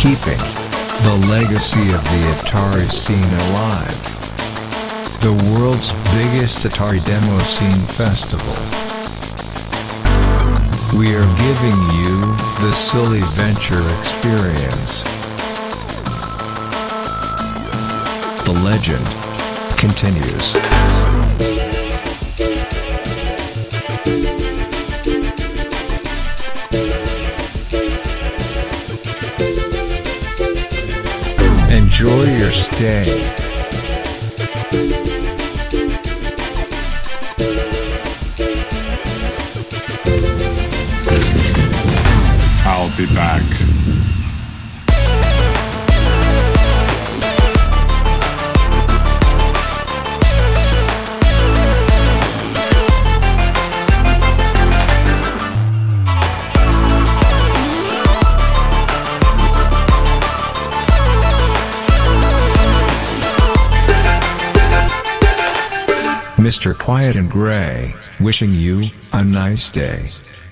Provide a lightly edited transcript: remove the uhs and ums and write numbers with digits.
keeping the legacy of the Atari scene alive. The world's biggest Atari Demo Scene Festival. We are giving you the Silly Venture experience. The legend continues. Enjoy your stay. I'll be back. Mr. Quiet and Gray, wishing you a nice day.